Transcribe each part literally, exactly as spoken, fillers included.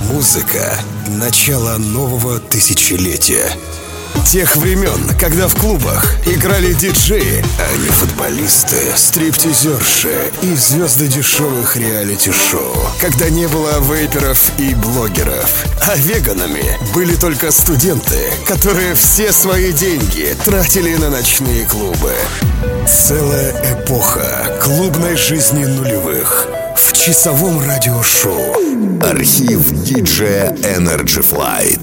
Музыка — начало нового тысячелетия. Тех времен, когда в клубах играли диджеи, а не футболисты, стриптизерши и звезды дешевых реалити-шоу. Когда не было вейперов и блогеров. А веганами были только студенты, которые все свои деньги тратили на ночные клубы. Целая эпоха клубной жизни нулевых в часовом радиошоу. Архив диджея Energy Flight.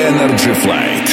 Energy Flight.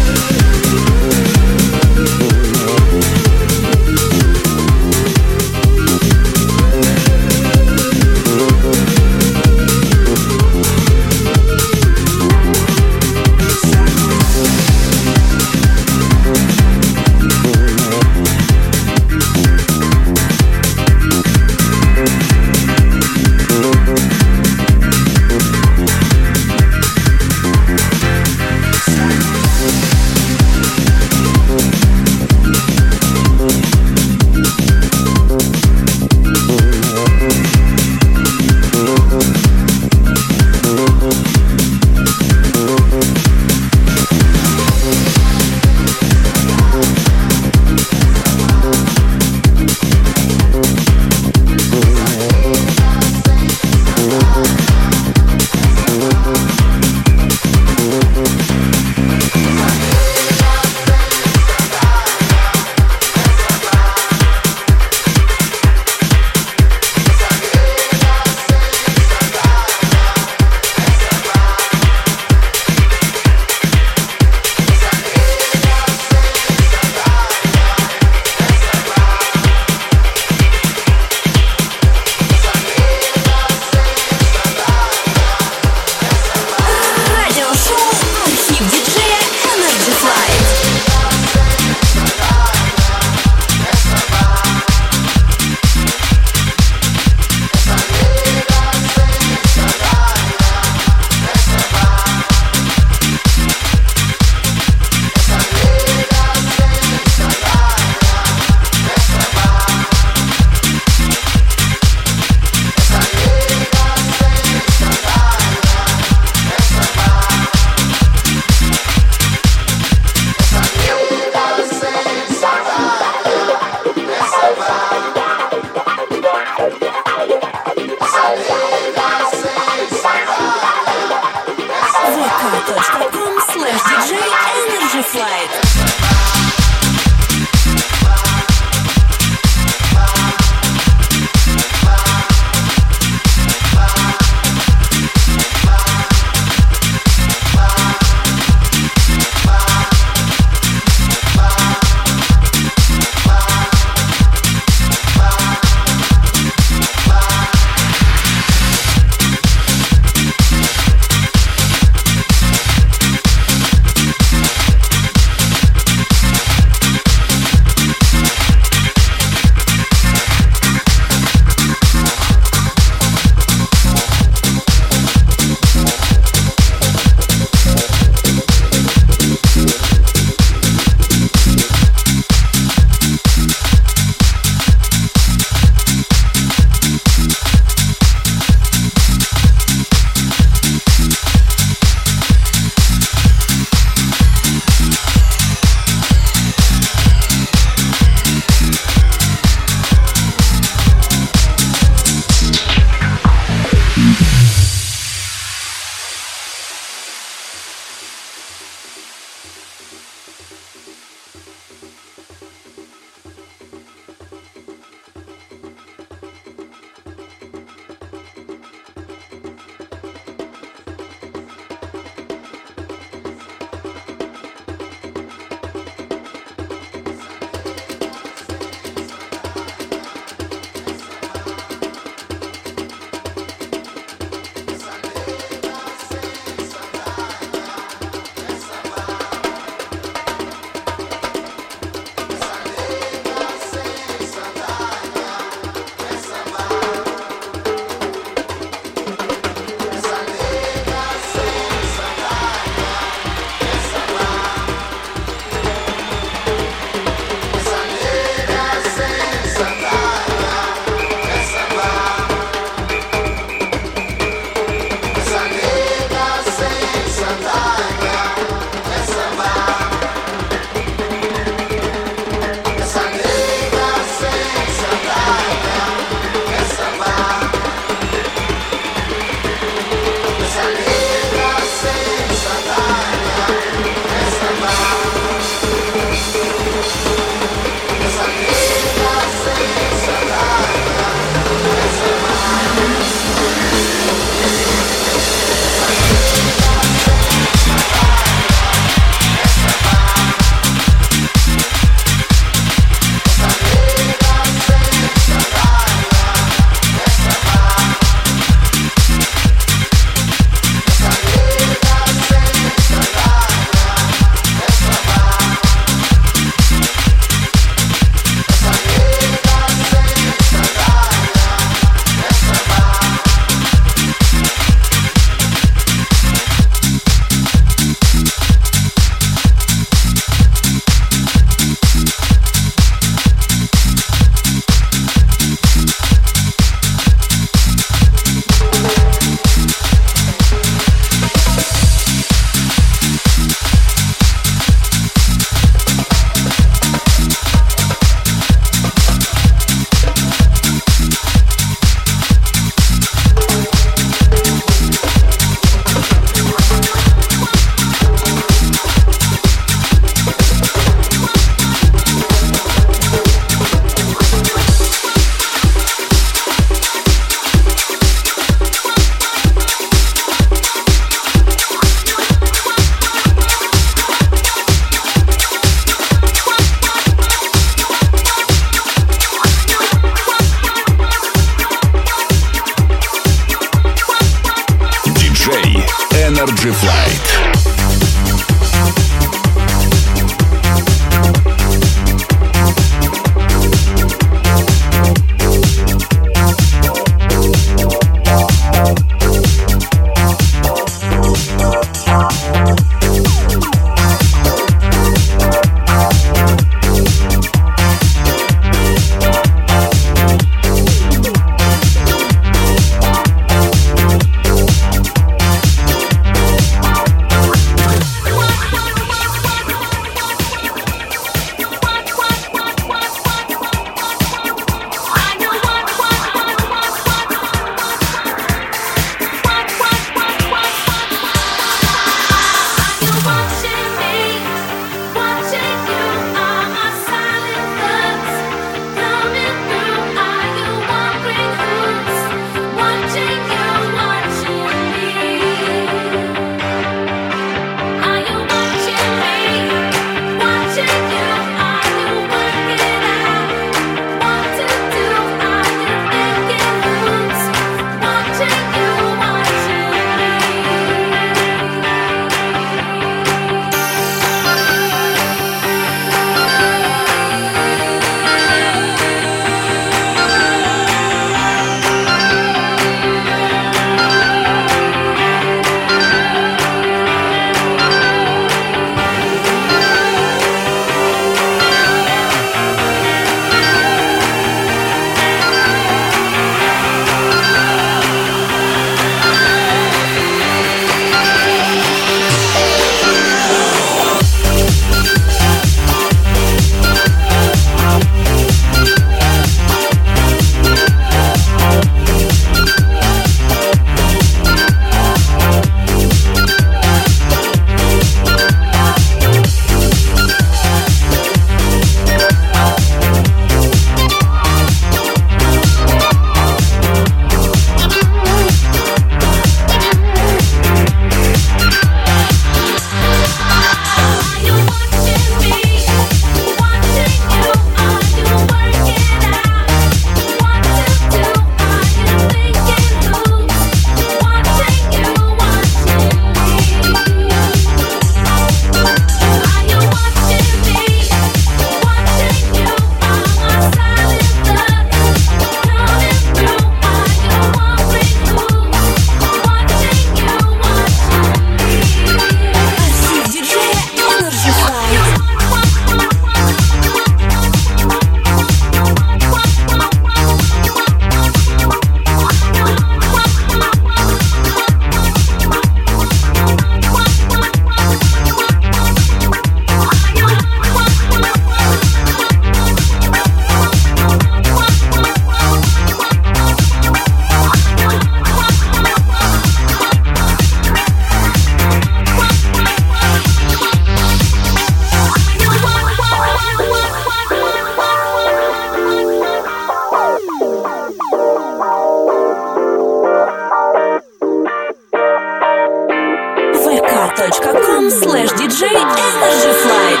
Energy Flight.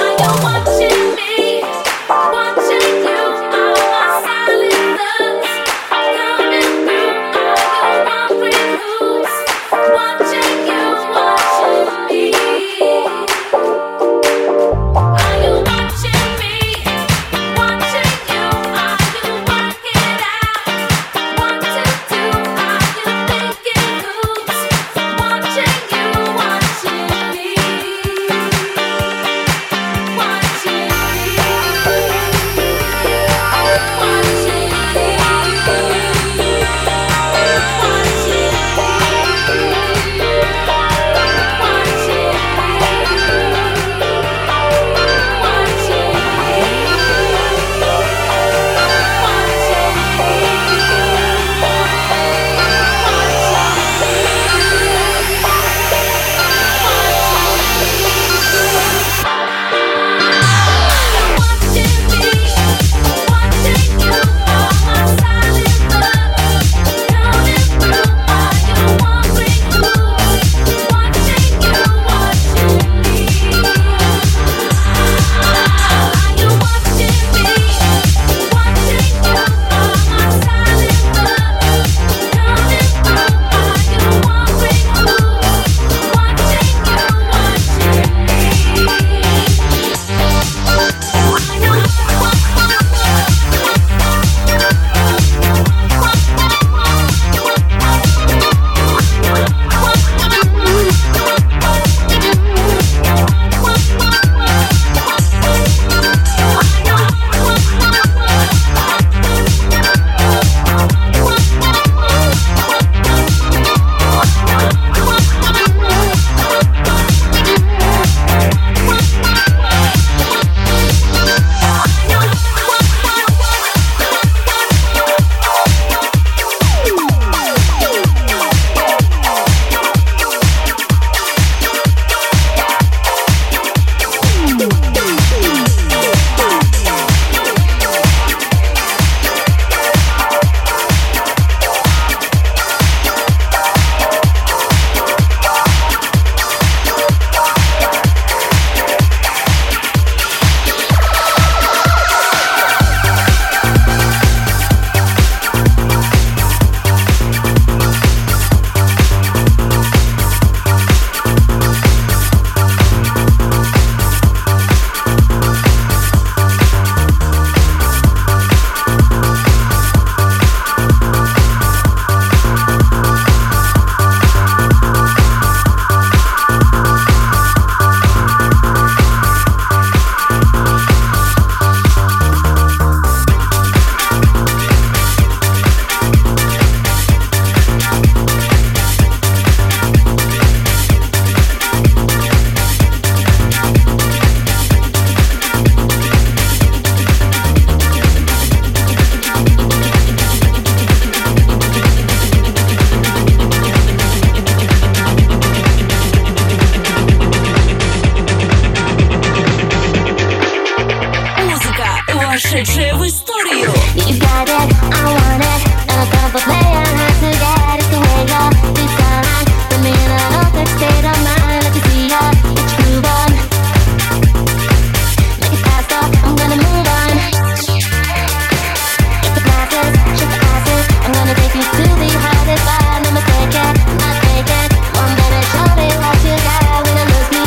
вошедшая в историю.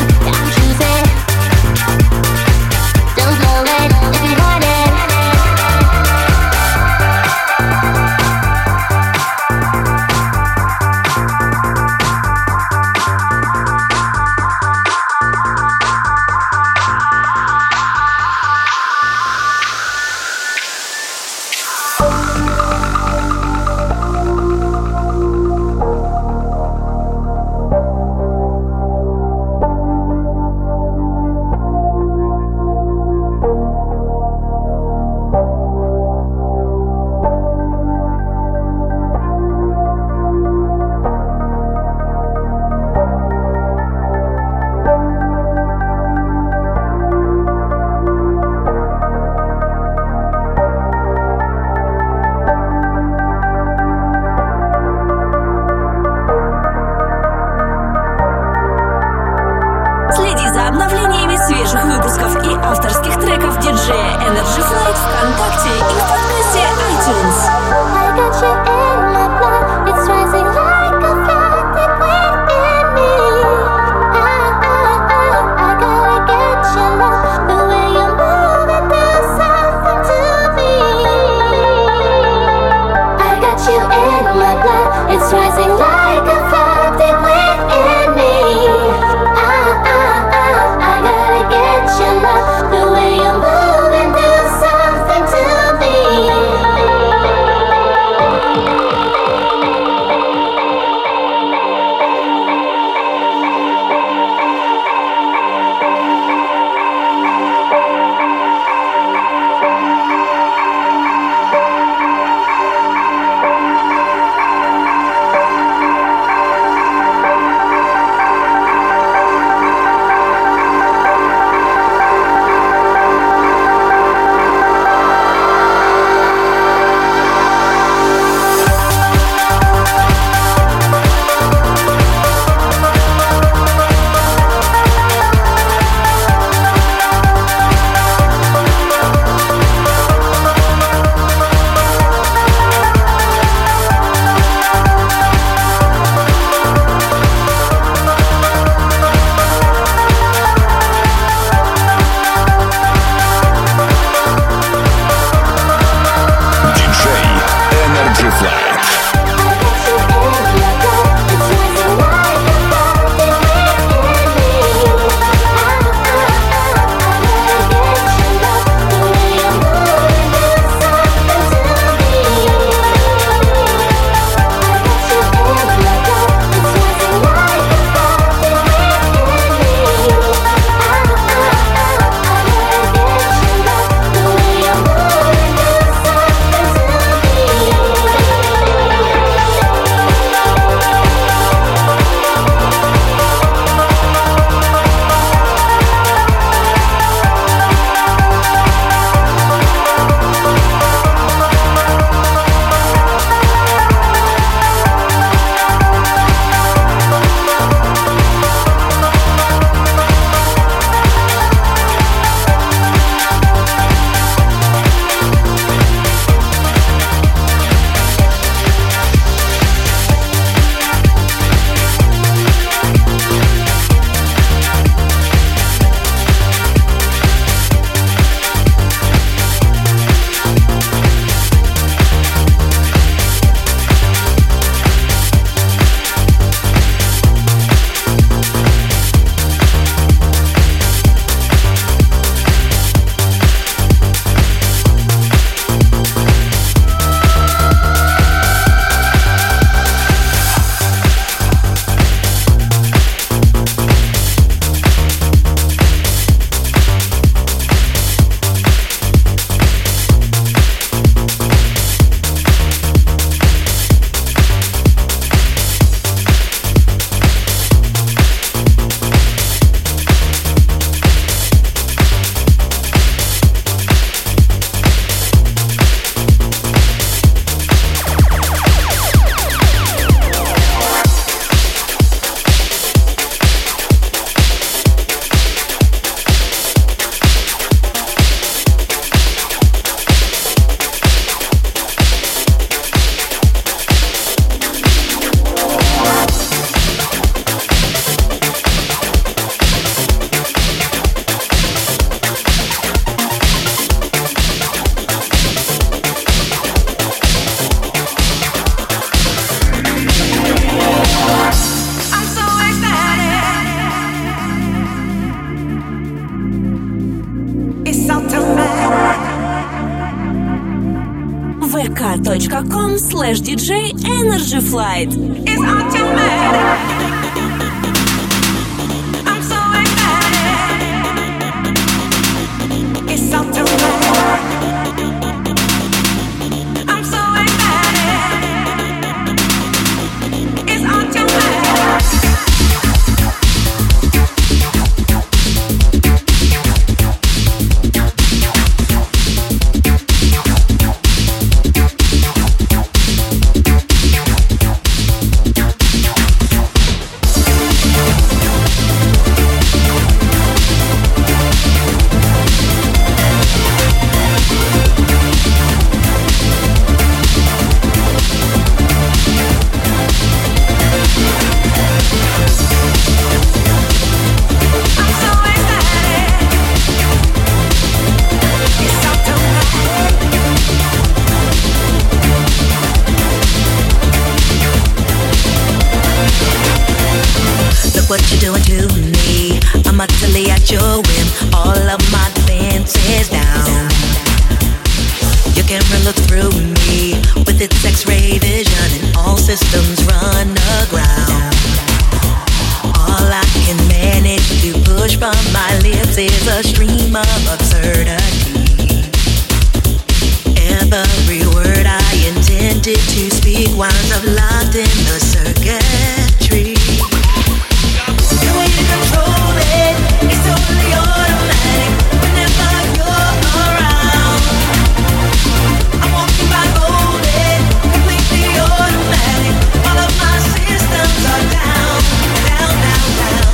Don't blow it if you want it. ВКонтакте и в подкасте iTunes. I got you in my blood, it's rising like a flood deep within me. I, I, I, I gotta get your love, the way you move it does something to me. I got you in my blood, it's rising like a flood deep within me. I, I, I, I gotta get your love, the way you move it does something to me. vk.com slash dj Energy Flight. It's automatic. I'm so excited. It's automatic. I'm so excited. It's automatic. doing to me? I'm utterly at your whim, all of my defenses down. Your camera looks through me with its X-ray vision, and all systems run aground. All I can manage to push from my lips is a stream of absurdity. Every word I intended to speak winds up locked in the circuitry. The way you control it is totally automatic. Whenever you're around, I'm walking by golden, completely automatic. All of my systems are down, down, down, down.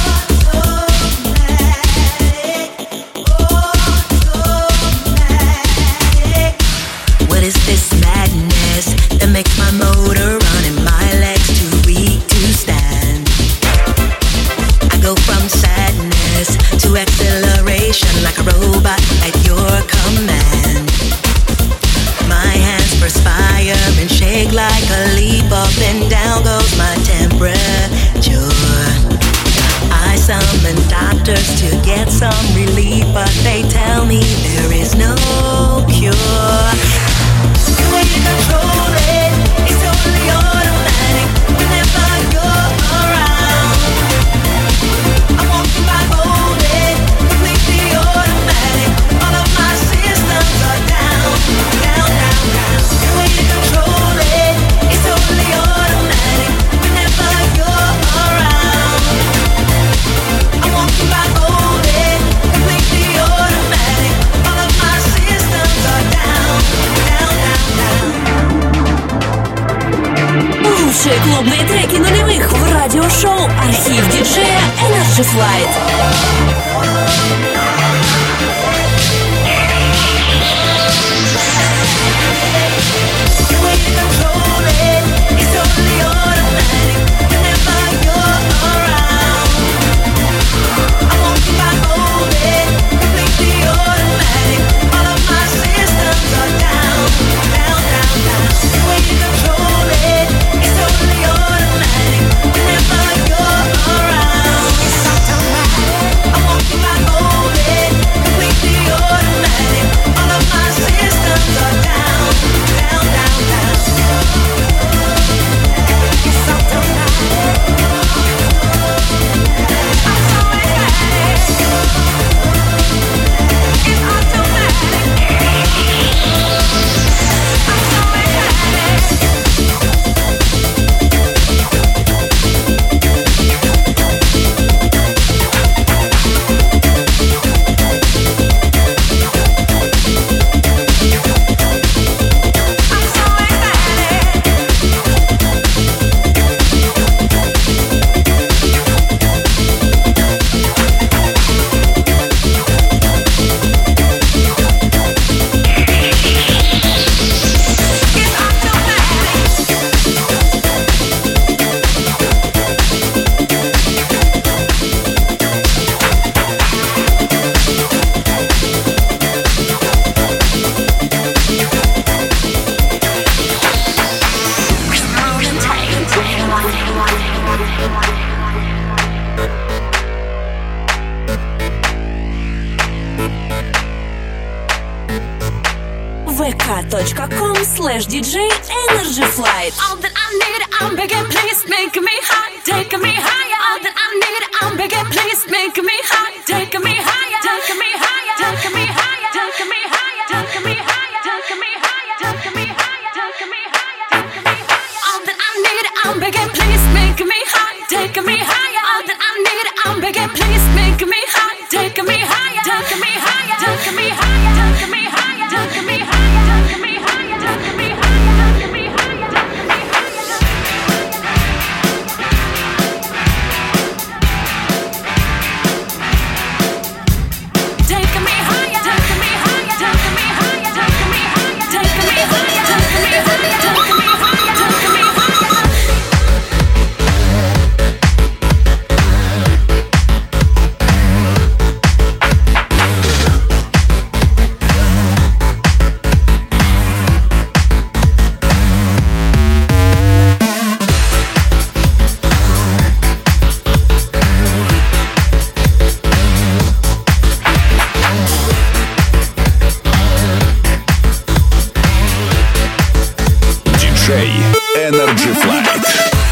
What is this madness that makes my motor run and my legs too weak to stand? I go from sadness to acceleration like a robot at your command. My hands perspire and shake like a leaf. Up and down goes my temperature. I summon doctors to get some relief, but they tell me there is no cure. The way you control it is totally automatic. Whenever you're around, I'm walking by golden, completely automatic. All of my systems are down, down, down, down. The way you control it is totally automatic. Whenever you're around, I'm walking by golden, completely automatic. All of my systems are down, down, down, down. Лучшие клубные треки нулевых в радиошоу «Архив диджея Energy Flight». vk.com slash DJ Energy Flight. All that I need, I'm begging, please make me high, take me higher. All that I need, I'm begging, please make me high, take me higher, take me higher, take me higher, take me higher, take me higher, take me higher, take me higher, take me higher, take me higher. All that I need, I'm begging, please make me high, take me higher. All that I need, I'm begging, please make me high, take me higher, take me higher, take me higher, take me higher, take me higher. Energy Flight.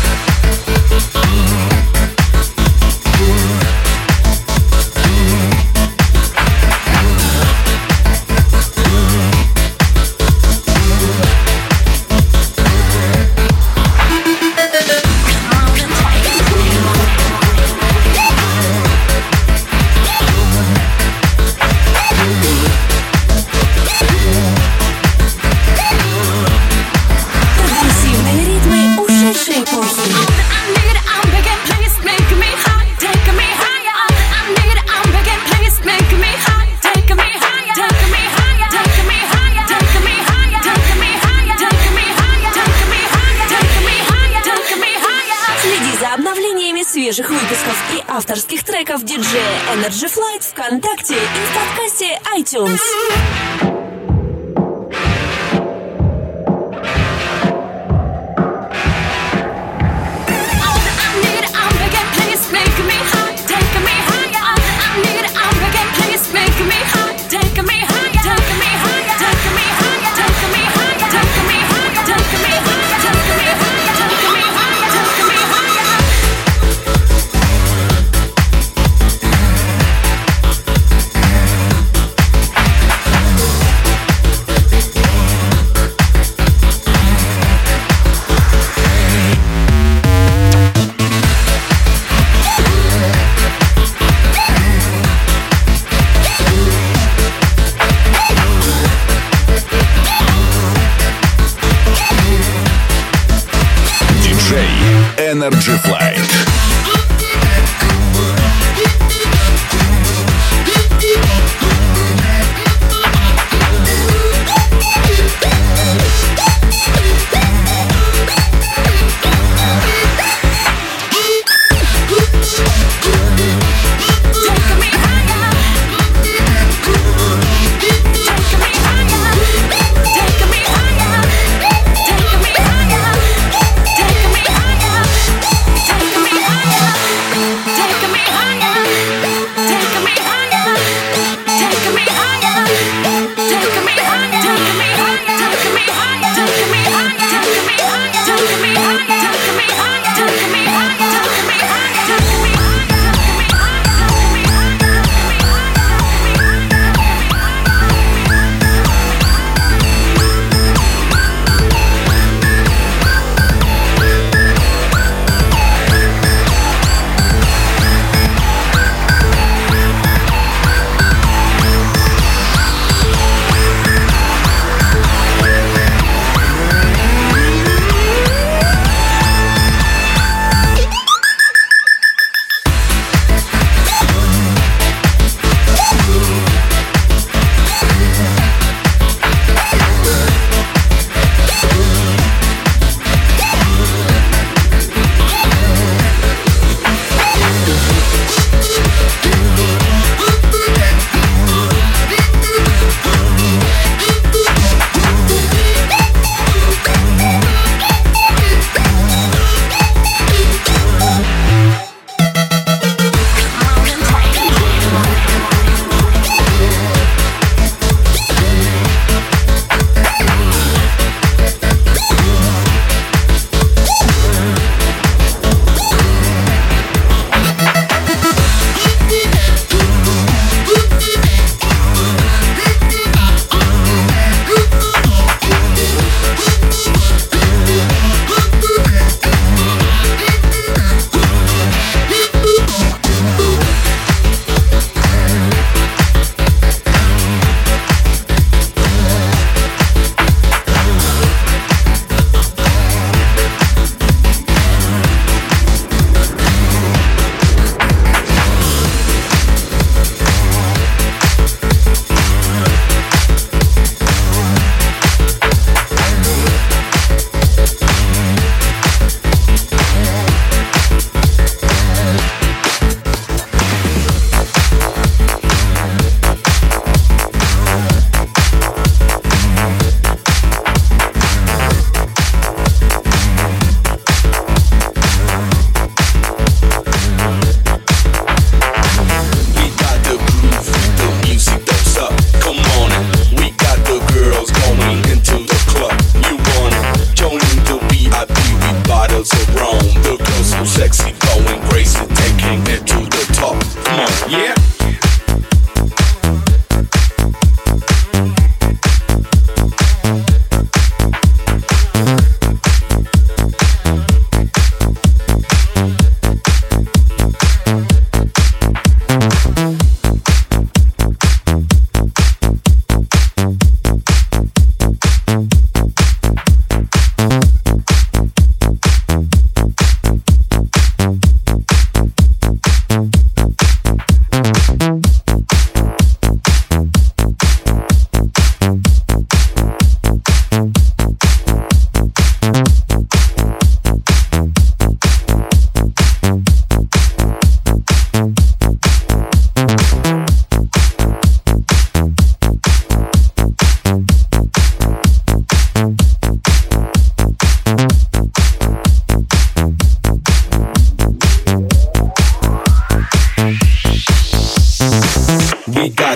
Свежих выпусков и авторских треков диджея Energy Flight ВКонтакте и в подкасте iTunes. Energy Flight. Take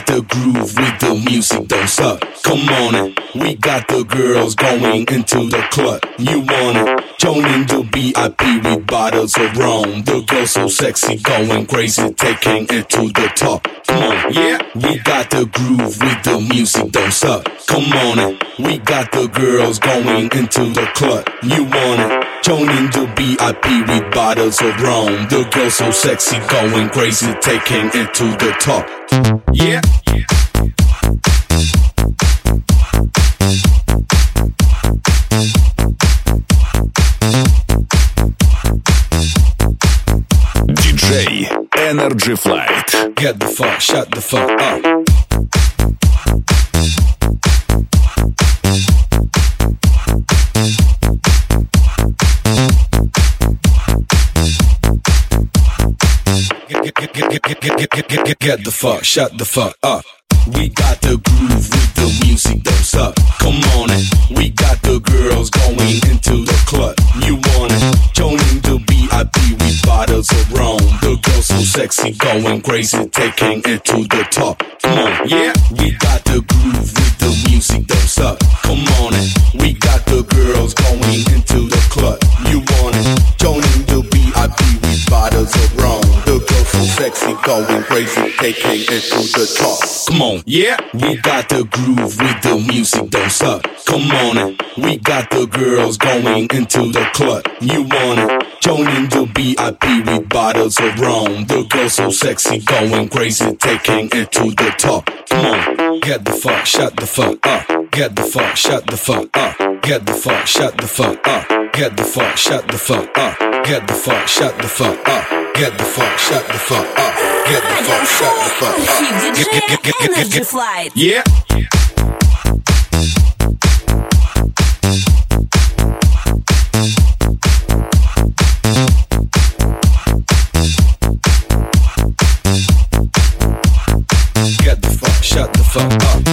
got the groove with the music, don't suck. Come on in, we got the girls going into the club. You want it? Join in the V I P with bottles of rum. The girls so sexy, going crazy, taking it to the top. Come on, yeah, we got the groove with the music, don't suck. Come on in, we got the girls going into the club. You want it? Join in the V I P with bottles of rum. The girls so sexy, going crazy, taking it to the top. Yeah. диджей Energy Flight. Get the fuck, shut the fuck up. Get, get, get, get, get, get, get, get, get the fuck, shut the fuck up. We got the groove with the music, don't suck. Come on in, we got the girls going into the club. You want it? Join in the V I P with bottles of rum. The girls so sexy, going crazy, taking it to the top. Come on, yeah, we got the groove with the music, don't suck. Come on in, we got the girls going into the club. You want it? Join in the V I P with bottles of rum. The girls so sexy, going crazy, taking it to the top. Come on, yeah, we got the groove with the music, don't suck. Come on in, we got the girls going into the club. You want it? Join in the V I P with bottles of rum. The girls so sexy, going crazy, taking it to the top. Come on, get the fuck, shut the fuck up. Get the fuck, shut the fuck up. Get the fuck, shut the fuck up. Get the fuck, shut the fuck up. Get the fuck, shut the fuck up. Get the fuck, shut the fuck up. Get the fuck, shut the fuck up. Хит диджея Energy Flight. Yeah. Get the fuck, shut the fuck up.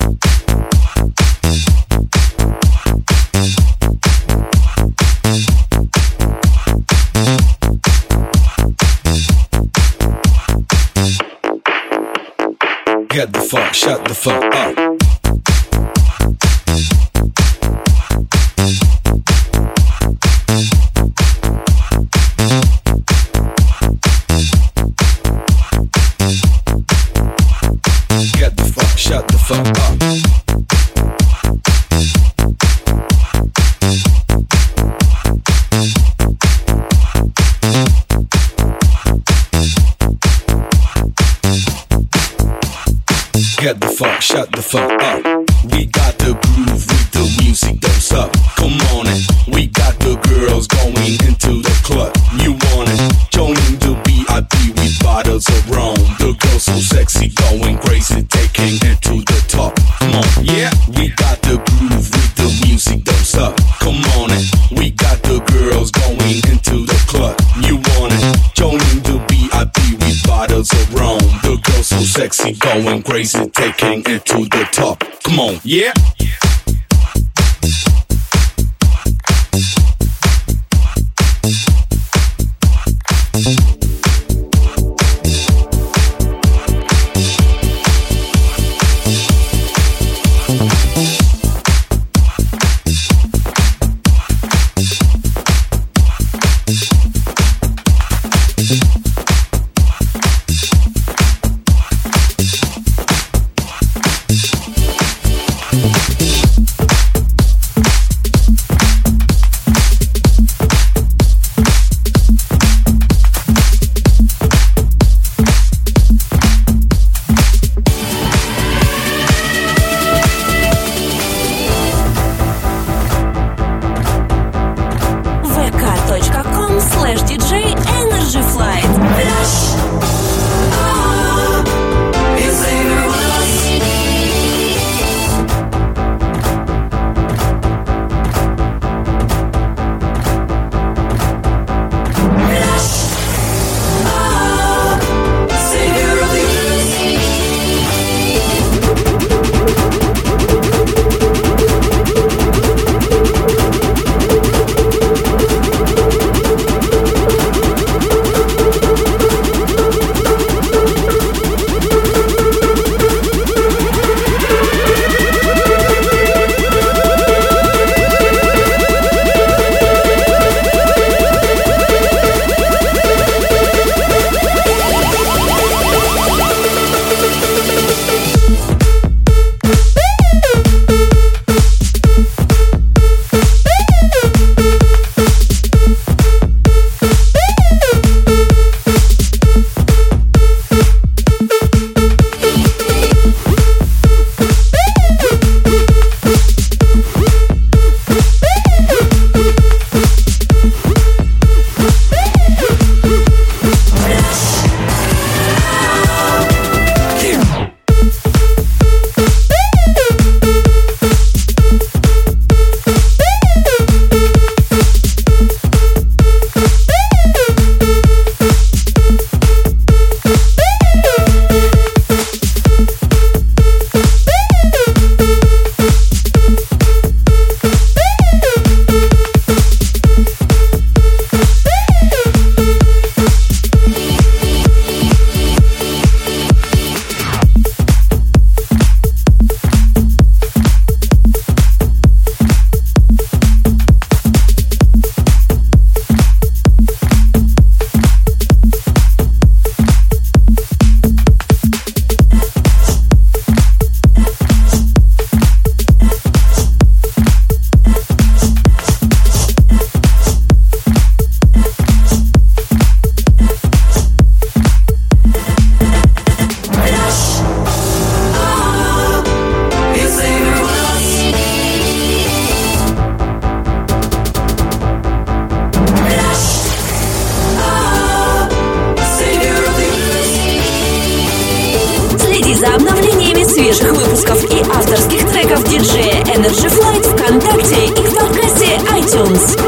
Get the fuck, shut the fuck up. Get the fuck, shut the fuck up. Get the fuck, shut the fuck up. We got the groove with the music, don't suck. Come on in, we got the girls going into the club. You want it? Join in the V I P with bottles of rum. The girls so sexy, going crazy, taking it to the top. Come on, yeah, we got the groove with the music, don't suck. Come on in, we got the girls going into the club. You want it? Join in the V I P with bottles of rum. The girls so sexy, going crazy, taking it to the top. Come on, yeah. свежих выпусков и авторских треков диджея Energy Flight ВКонтакте и в подкасте iTunes.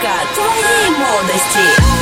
музыка твоей молодости.